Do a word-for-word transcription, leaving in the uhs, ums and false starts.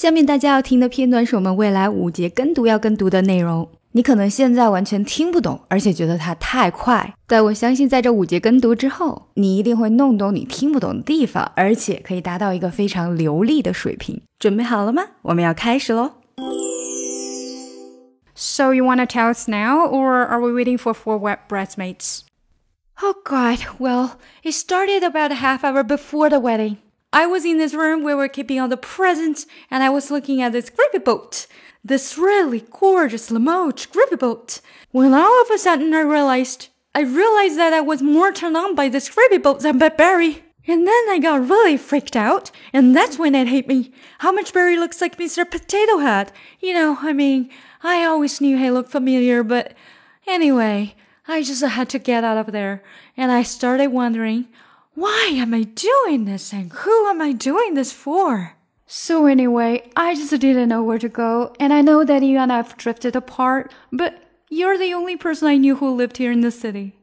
下面大家要听的片段是我们未来五节跟读要跟读的内容。你可能现在完全听不懂，而且觉得它太快，但我相信在这五节跟读之后，你一定会弄懂你听不懂的地方，而且可以达到一个非常流利的水平。准备好了吗？我们要开始咯。 So you want to tell us now, or are we waiting for four wet bridesmaids? Oh God, well, it started about a half hour before the wedding. I was in this room where we're keeping all the presents, and I was looking at this gravy boat. This really gorgeous Limoges gravy boat. When all of a sudden I realized, I realized that I was more turned on by this gravy boat than by Barry. And then I got really freaked out, and that's when it hit me how much Barry looks like Mister Potato Head. You know, I mean, I always knew he looked familiar, but anyway, I just had to get out of there. And I started wondering, why am I doing this, and who am I doing this for? So anyway, I just didn't know where to go, and I know that you and I have drifted apart, but you're the only person I knew who lived here in the city.